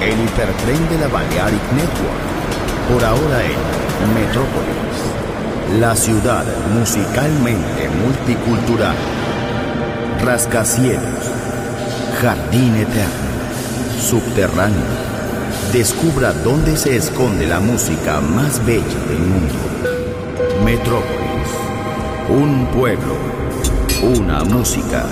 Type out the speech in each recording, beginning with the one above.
el hipertren de la Balearic Network. Por ahora en Metrópolis, la ciudad musicalmente multicultural. Rascacielos, jardín eterno, subterráneo. Descubra dónde se esconde la música más bella del mundo. Metrópolis, un pueblo, una música.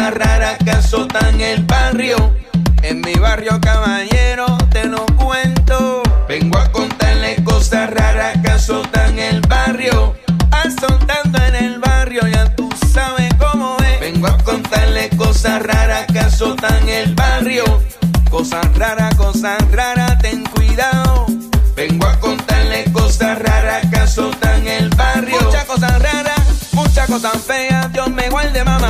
cosas raras que azotan el barrio. En mi barrio, caballero, te lo cuento. Vengo a contarle cosas raras que azotan el barrio. Azotando en el barrio, ya tú sabes cómo es. Vengo a contarle cosas raras que azotan el barrio. Cosas raras, ten cuidado. Vengo a contarle cosas raras que azotan el barrio. Muchas cosas feas, Dios me guarde, mamá.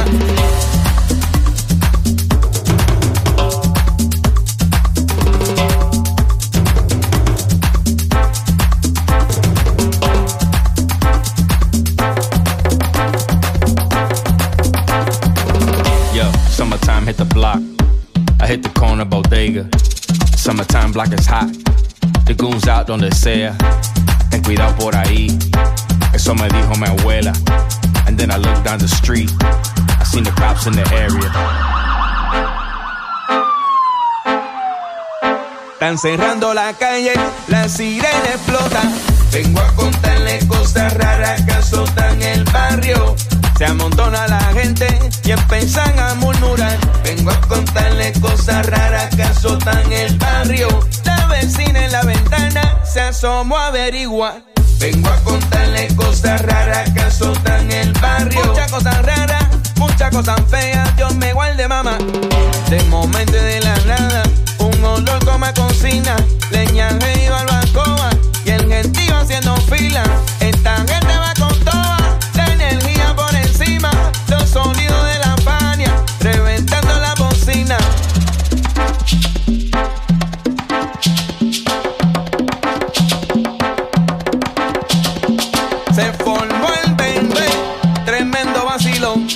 Yo, summertime hit the block. I hit the corner bodega. Summertime block is hot. The goons out donde sea. Ten cuidado por ahí. Eso me dijo mi abuela. And then I looked down the street. I seen the cops in the area. Están cerrando la calle, la sirena explota. Vengo a contarle cosas raras que azotan el barrio. Se amontona la gente y empiezan a murmurar. Vengo a contarle cosas raras que azotan el barrio. La vecina en la ventana se asomó a averiguar. Vengo a contarle cosas raras que azotan el barrio. Muchas cosas feas, Dios me guarde, mamá. De momento y de la nada, un olor como a cocina. Leña y barbacoa y el gentío haciendo fila. Esta gente va con toda la energía por encima. Los sonidos de la Fania reventando la bocina. Se formó el bendé, tremendo vacilón.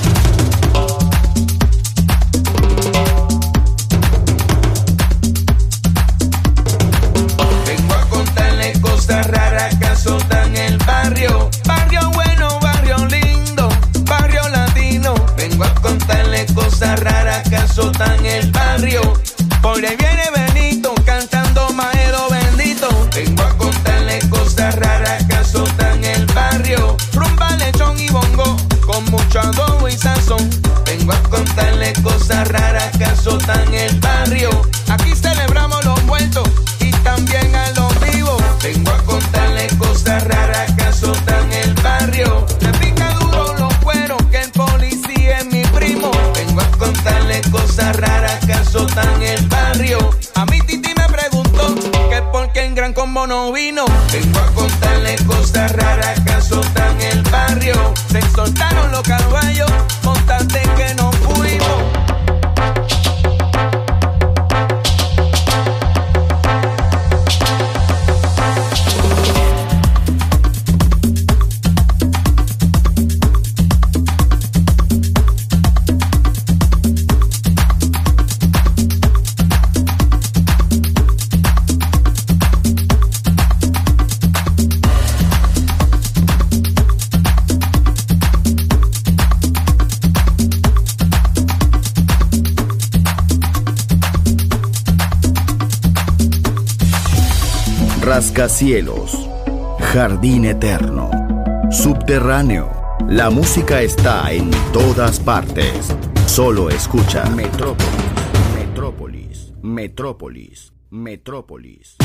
Vengo a contarle cosas raras que azotan el barrio. Barrio bueno, barrio lindo, barrio latino. Vengo a contarle cosas raras que azotan el barrio. Por ahí viene Benito cantando Maelo bendito. Vengo a contarle cosas raras que azotan el barrio. Rumba, lechón y bongo con mucho adobo y sazón. Vengo a contarle cosas raras que azotan el barrio. Aquí celebramos los muertos y también a los vivos. Vengo a contarle cosas raras que azotan el barrio. Le pica duro los cueros que el policía es mi primo. Vengo a contarle cosas raras que azotan el barrio. A mi titi me preguntó que por qué en Gran Combo no vino. Vengo a contarle cosas raras que azotan el barrio. Se soltaron los caballos, contate que no fuimos. Rascacielos, jardín eterno, subterráneo. La música está en todas partes. Solo escucha Metrópolis, Metrópolis, Metrópolis, Metrópolis.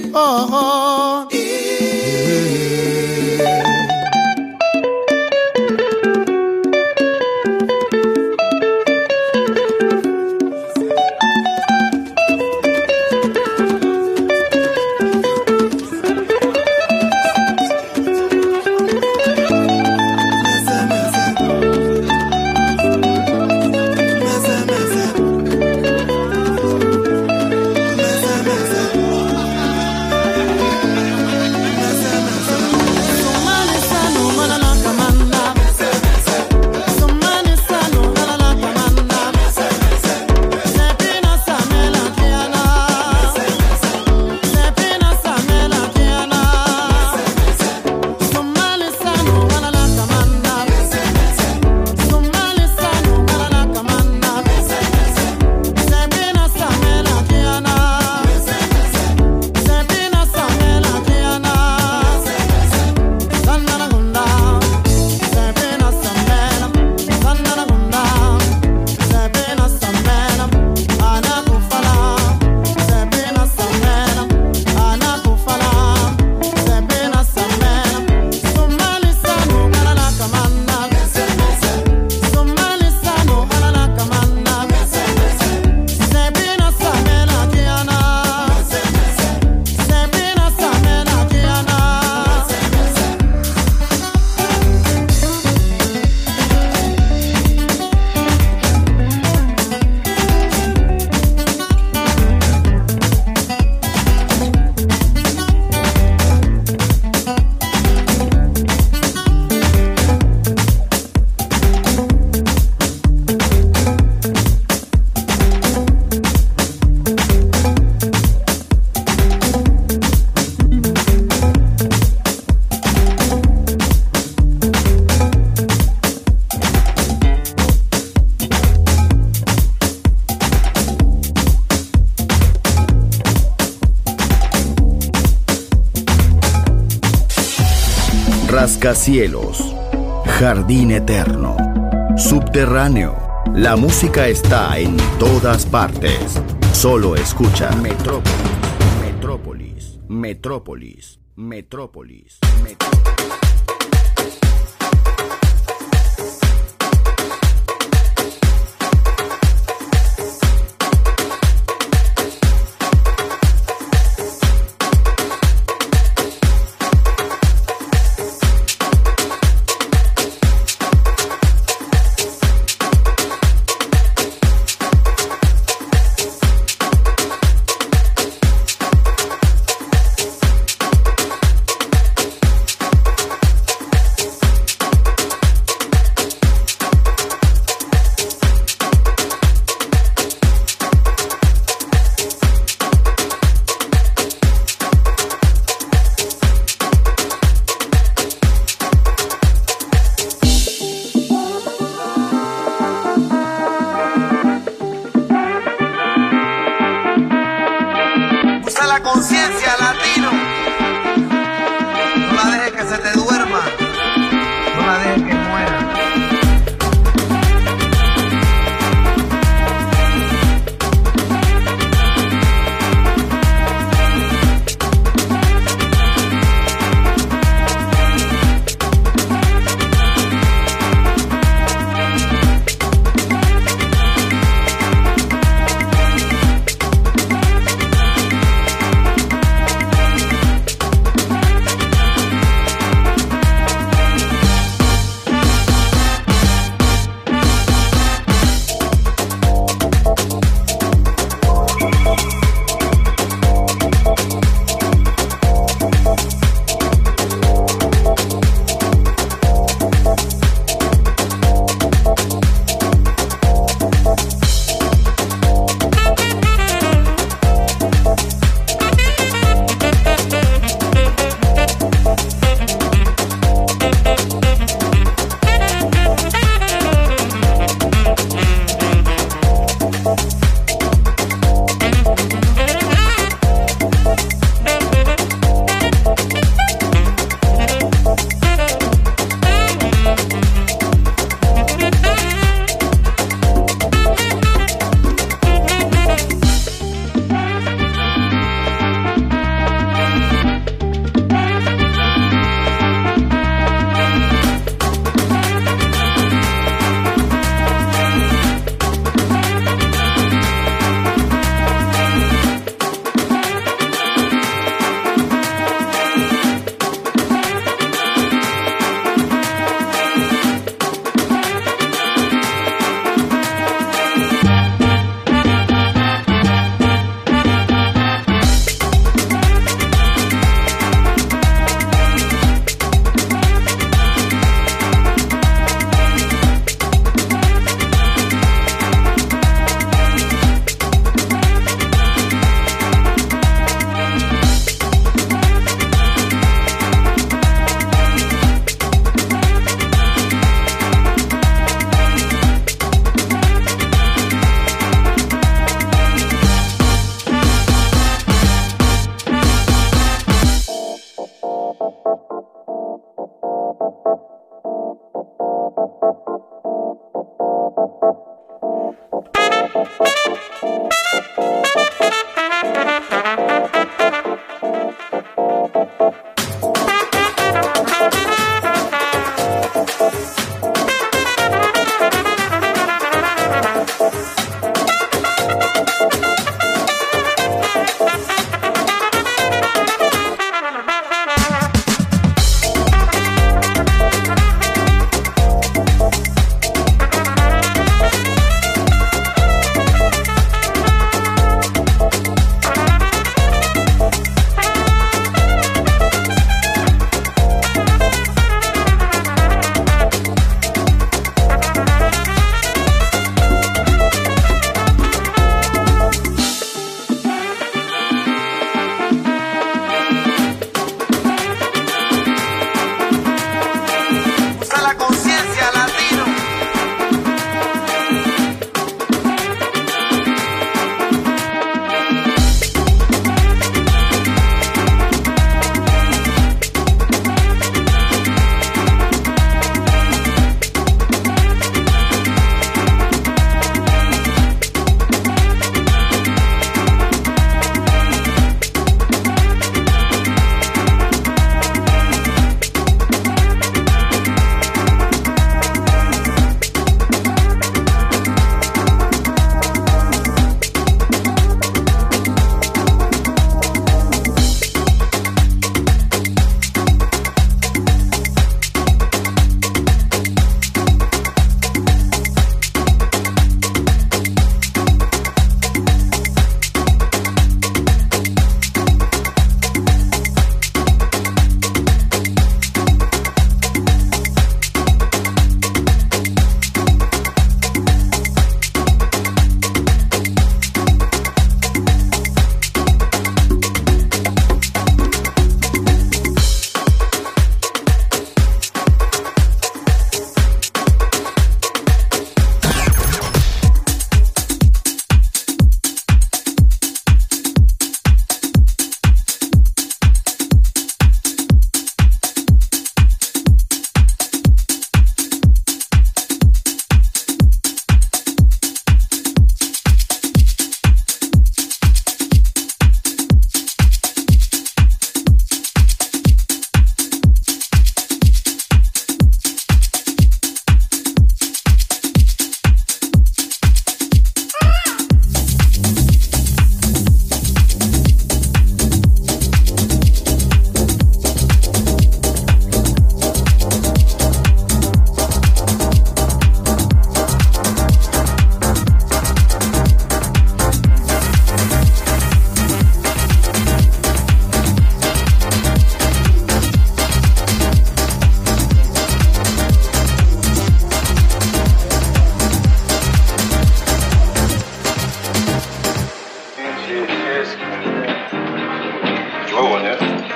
Oh, Rascacielos, Jardín Eterno, Subterráneo. La música está en todas partes. Solo escucha Metrópolis, Metrópolis, Metrópolis, Metrópolis. Conciencia latino, no la dejes que se te duerma, no la dejes que muera.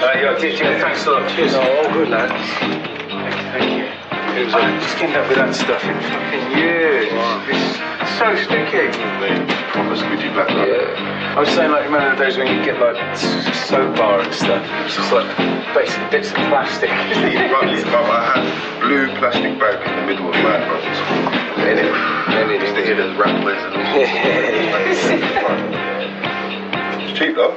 Yeah, thanks a lot. Cheers. No, all good, lad. Thank you. It was just getting up with that stuff in fucking years. Wow. It's so sticky. Proper squidgy black rubber. Yeah. I was saying, like, remember the days when you get, like, soap bar and stuff? It's just, like, basically bits of plastic. I had blue plastic bag in the middle of my brothers. And it used to hear those rattlers and all. It's cheap, though.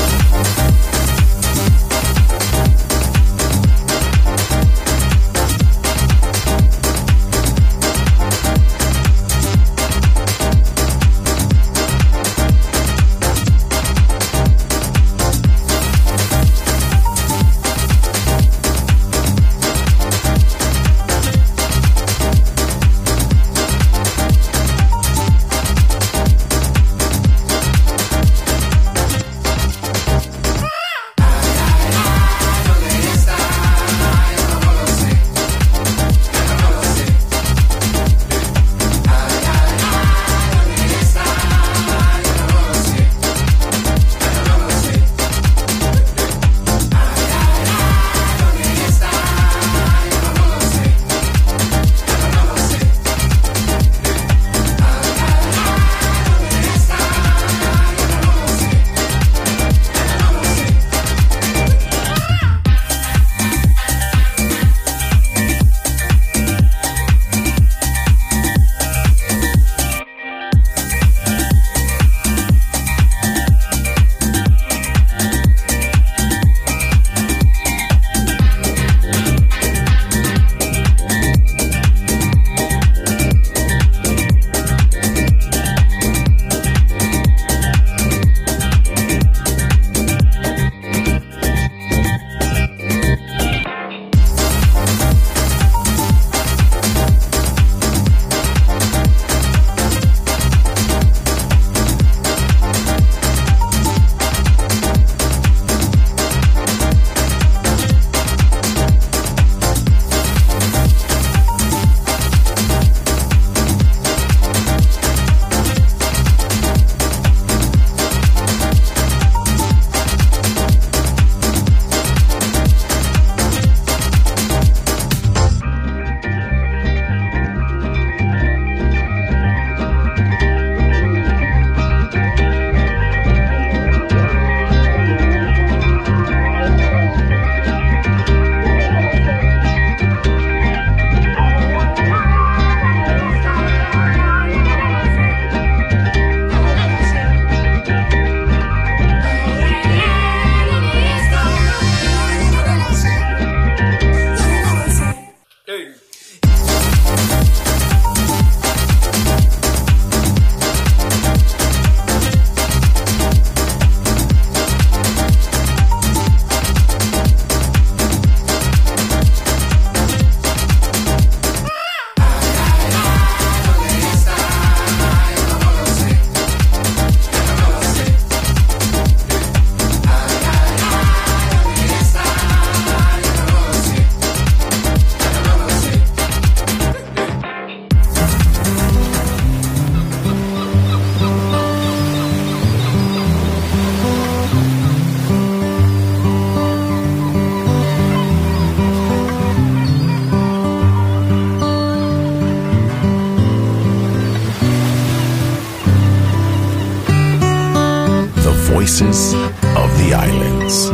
Voices of the Islands.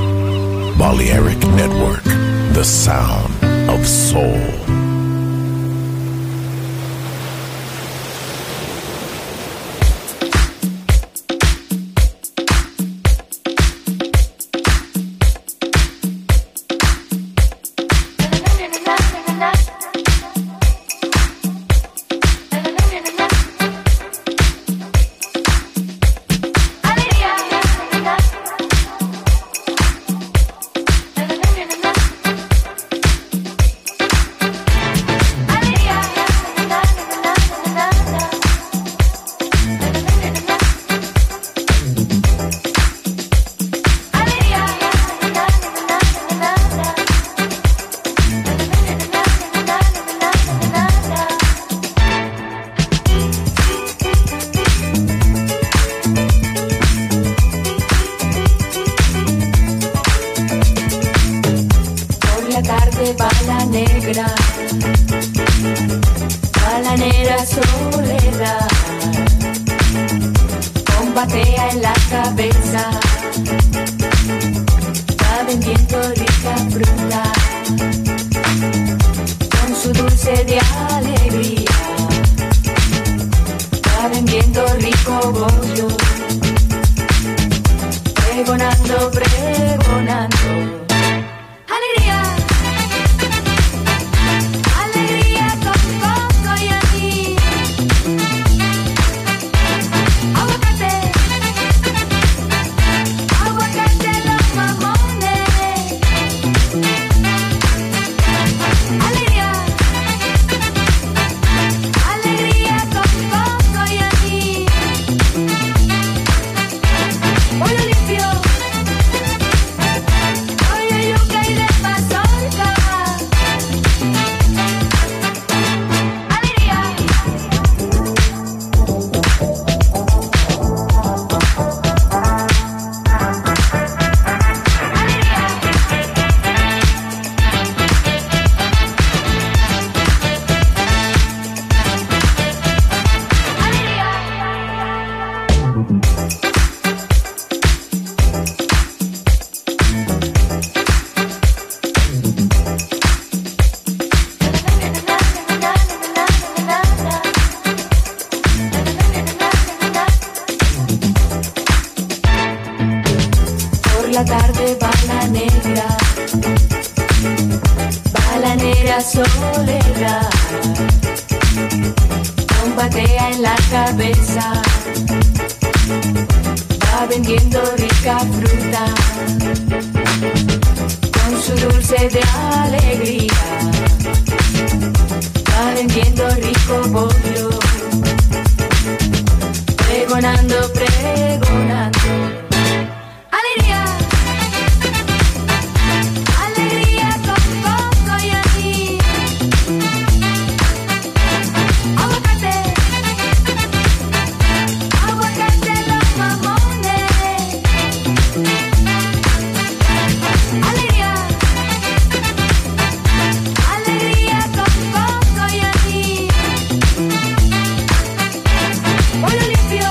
Balearic Network, the sound of soul. tarde bala negra, balanera soledad, combatea en la cabeza, va vendiendo rica fruta, con su dulce de alegría, va vendiendo rico bollo, pregonando, pregonando. Alegría, alegría con coco y anís, aguacate, aguacate los mamones. Alegría, alegría con coco y anís, pollo limpio, pollo yuca y de mazorca. Alegría. Por la tarde balanera soledad, combatea en la cabeza, va vendiendo rica fruta, con su dulce de alegría, va vendiendo rico bollo, pregonando, pregonando. Alegría, alegría con coco y anís, aguacate, aguacate los mamones. Alegría, alegría con coco y anís, pollo limpio,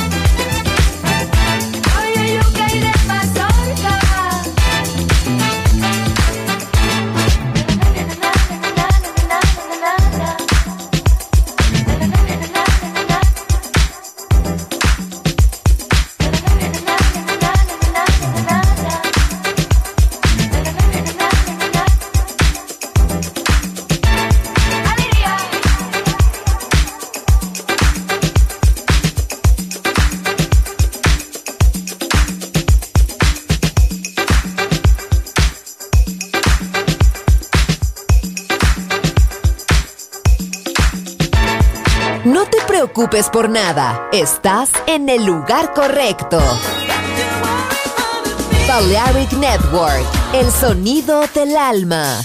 pollo yuca y de mazorca. No te preocupes por nada, estás en el lugar correcto. Balearic Network, el sonido del alma.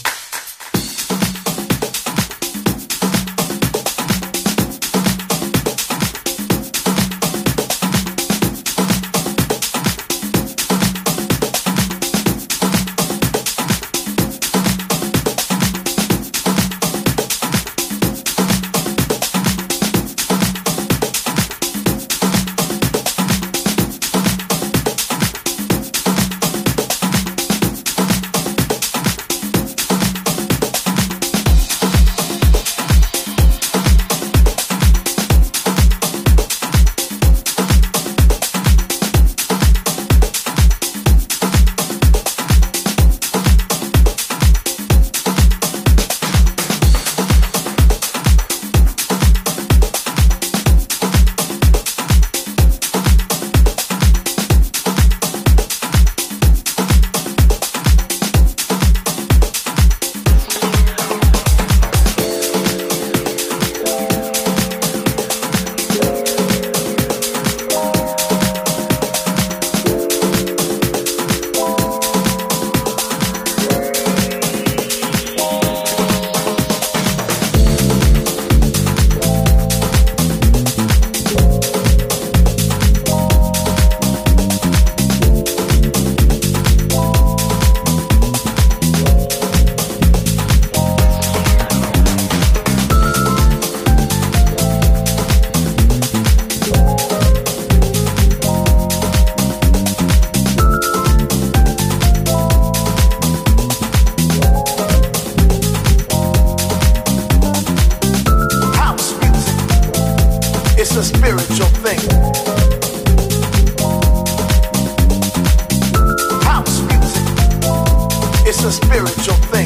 It's a spiritual thing.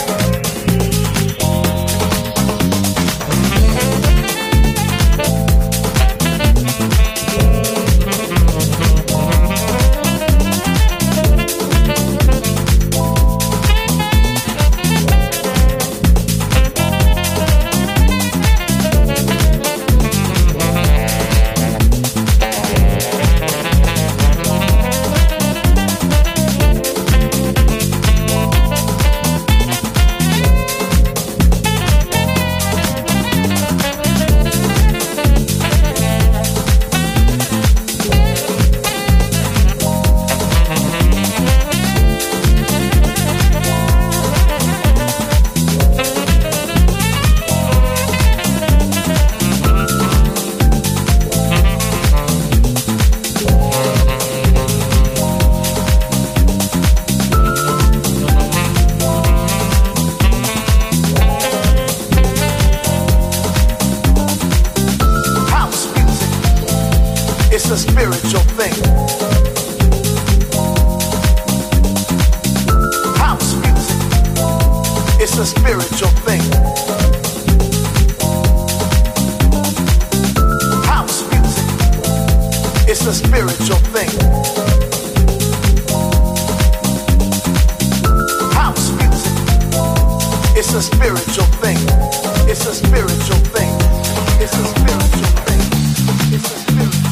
It's a spiritual thing. House music. It's a spiritual thing. House music. It's a spiritual thing. House music. It's a spiritual thing. It's a spiritual thing. It's a spiritual thing. It's a spiritual thing.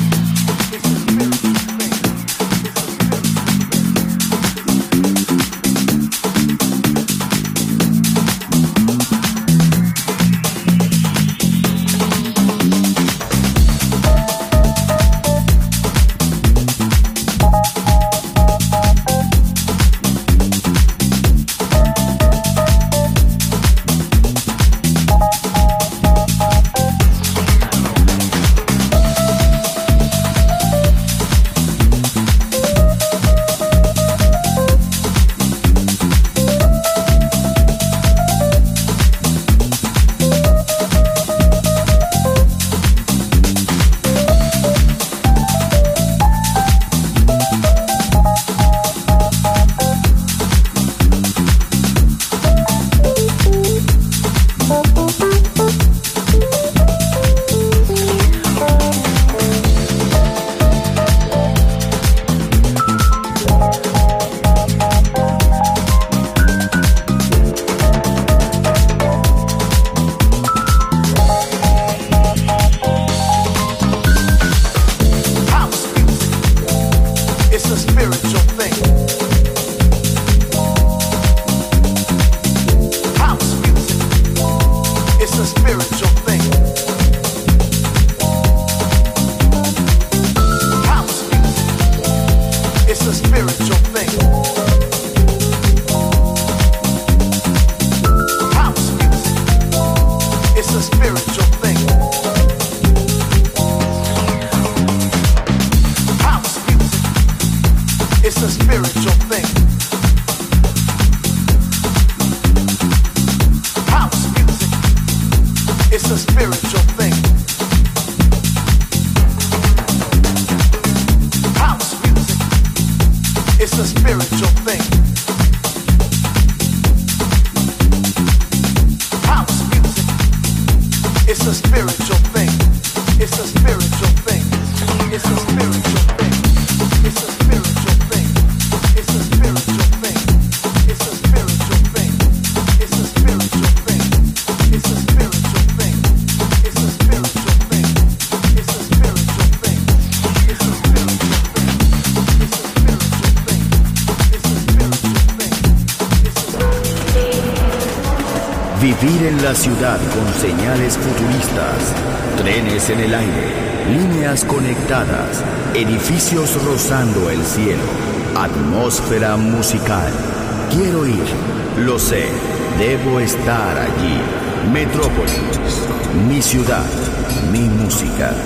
Vivir en la ciudad con señales futuristas, trenes en el aire, líneas conectadas, edificios rozando el cielo, atmósfera musical. Quiero ir, lo sé, debo estar allí. Metrópolis, mi ciudad, mi música.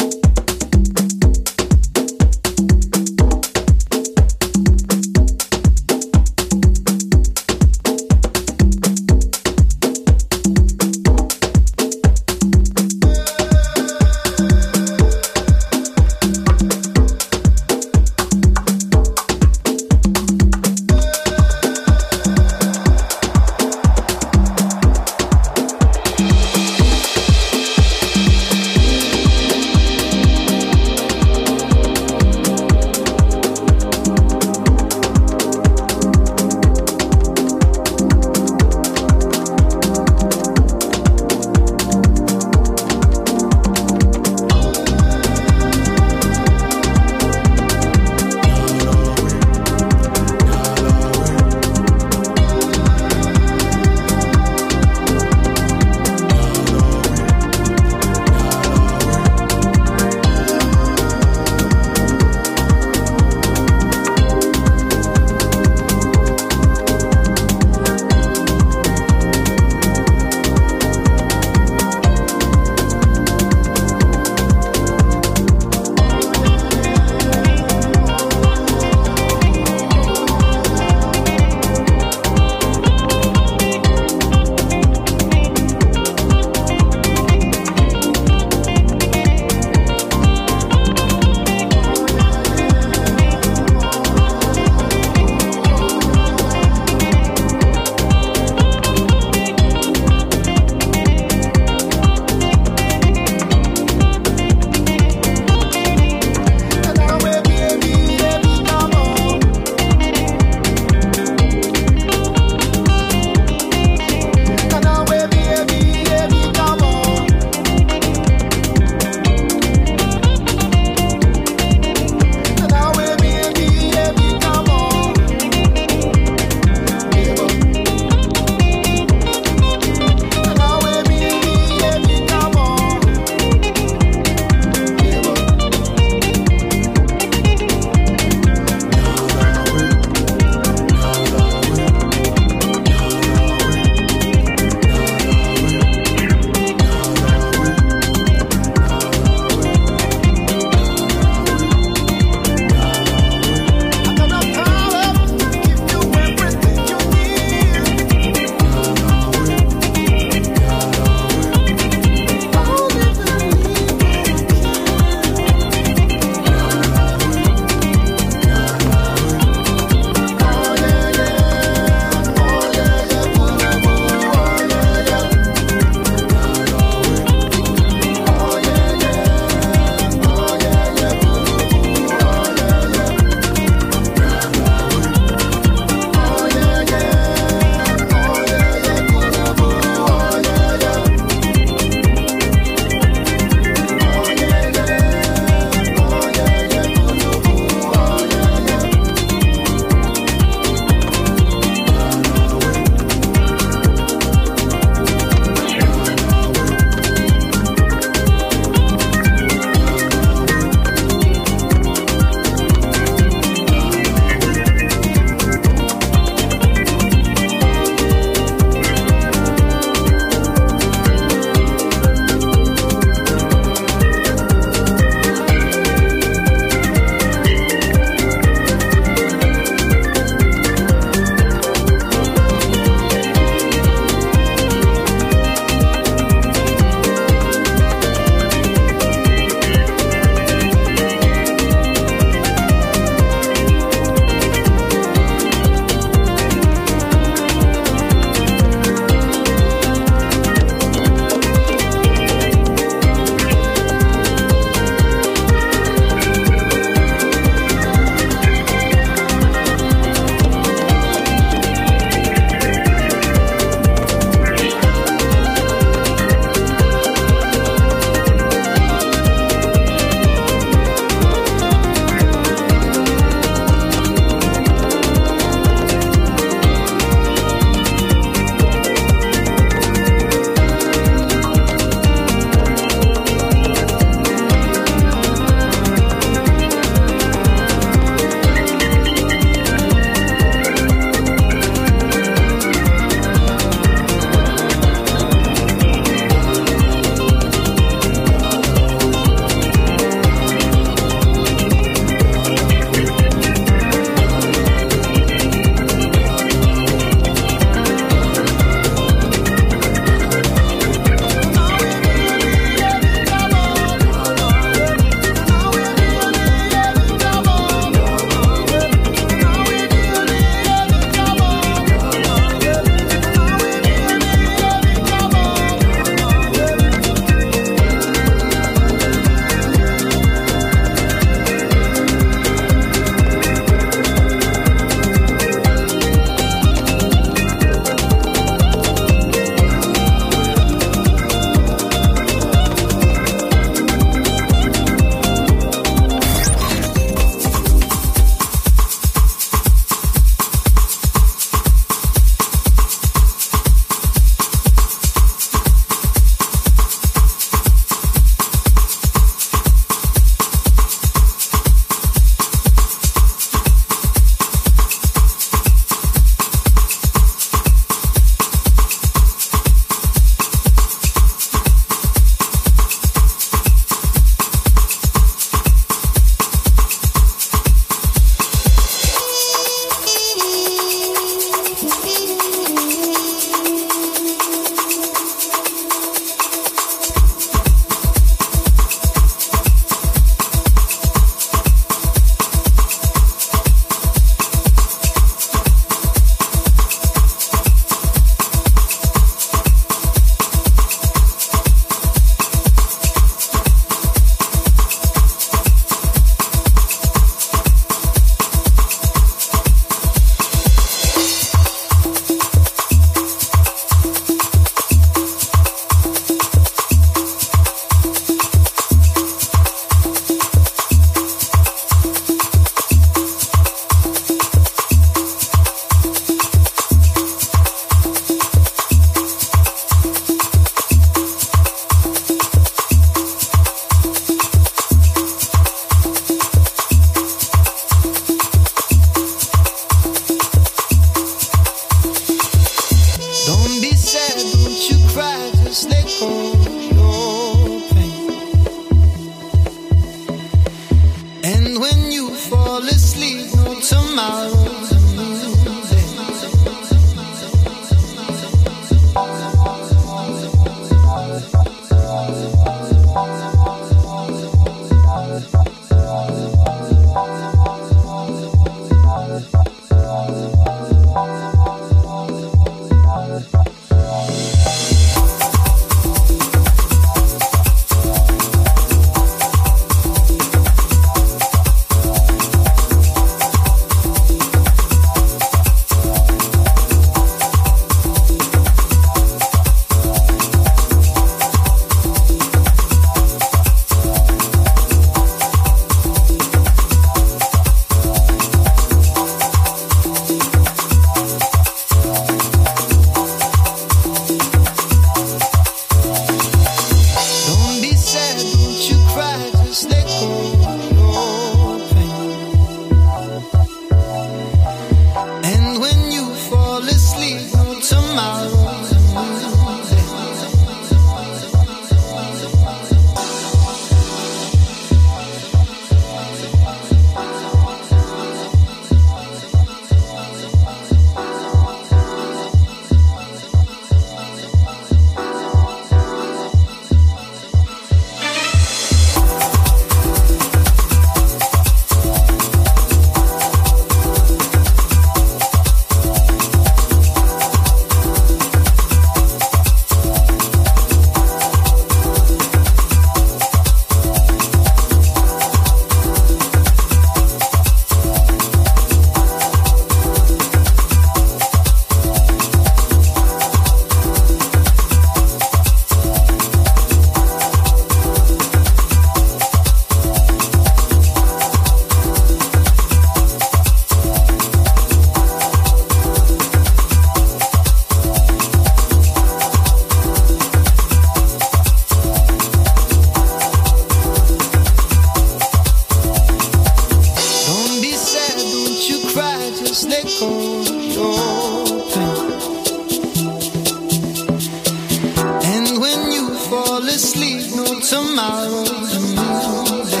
tomorrow's moving.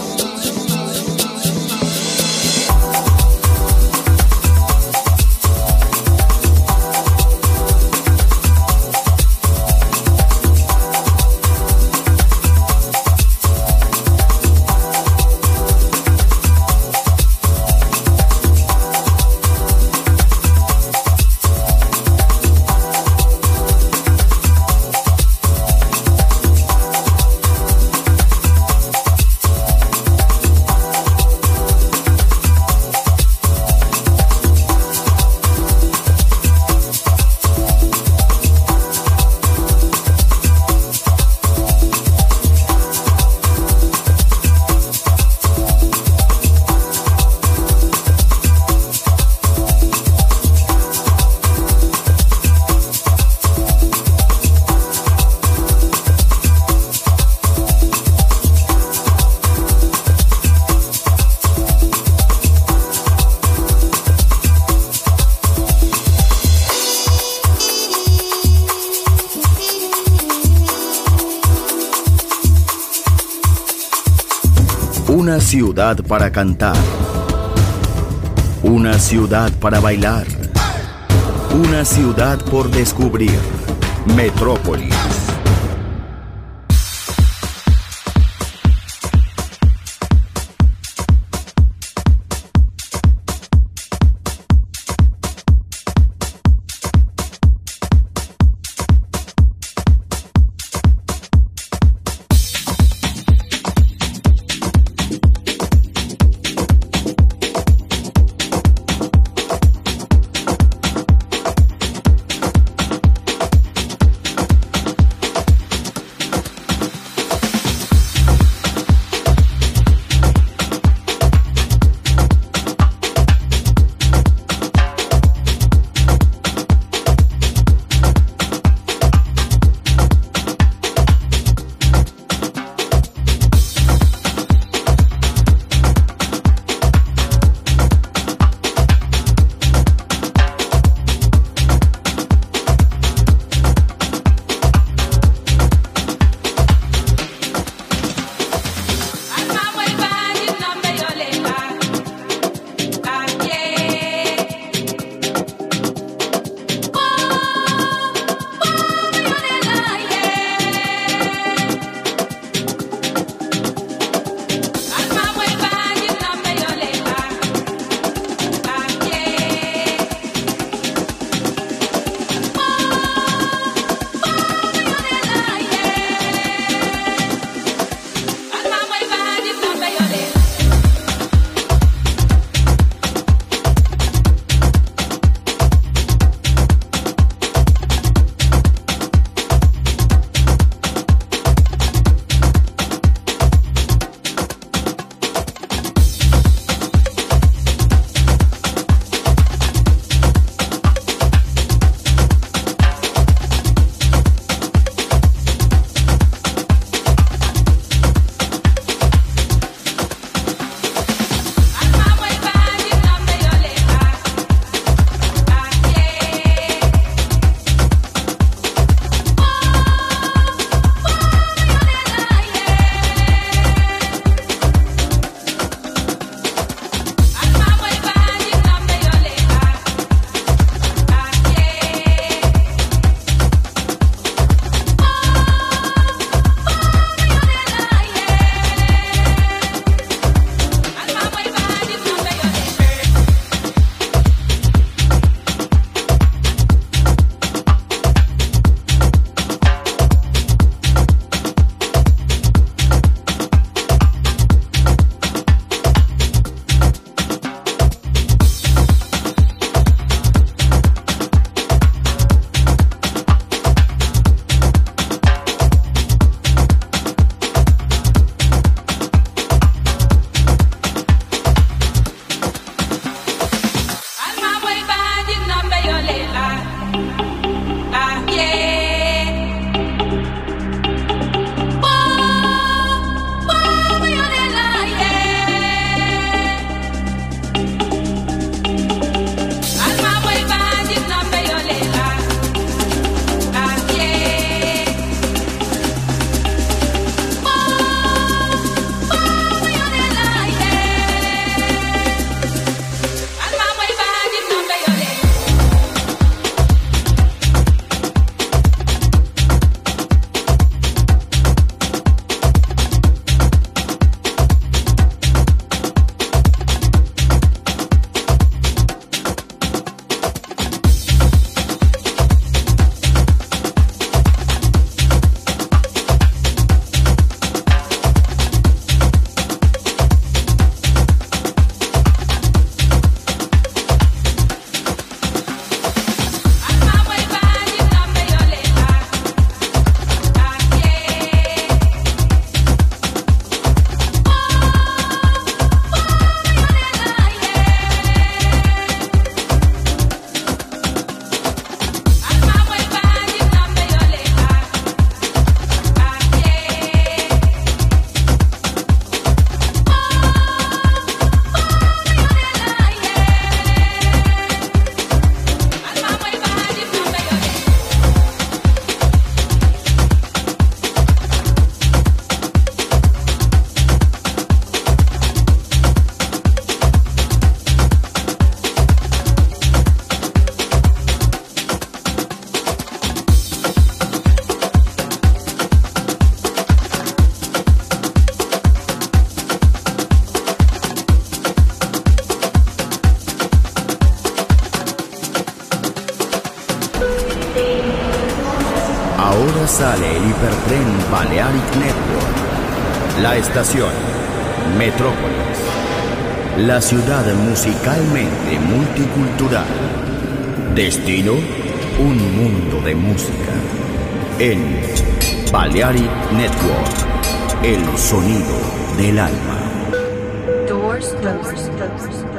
Una ciudad para cantar. Una ciudad para bailar. Una ciudad por descubrir. Metrópolis. sale el hipertren Balearic Network. La estación Metrópolis, la ciudad musicalmente multicultural. Destino, un mundo de música. En Balearic Network, el sonido del alma. Doors closed.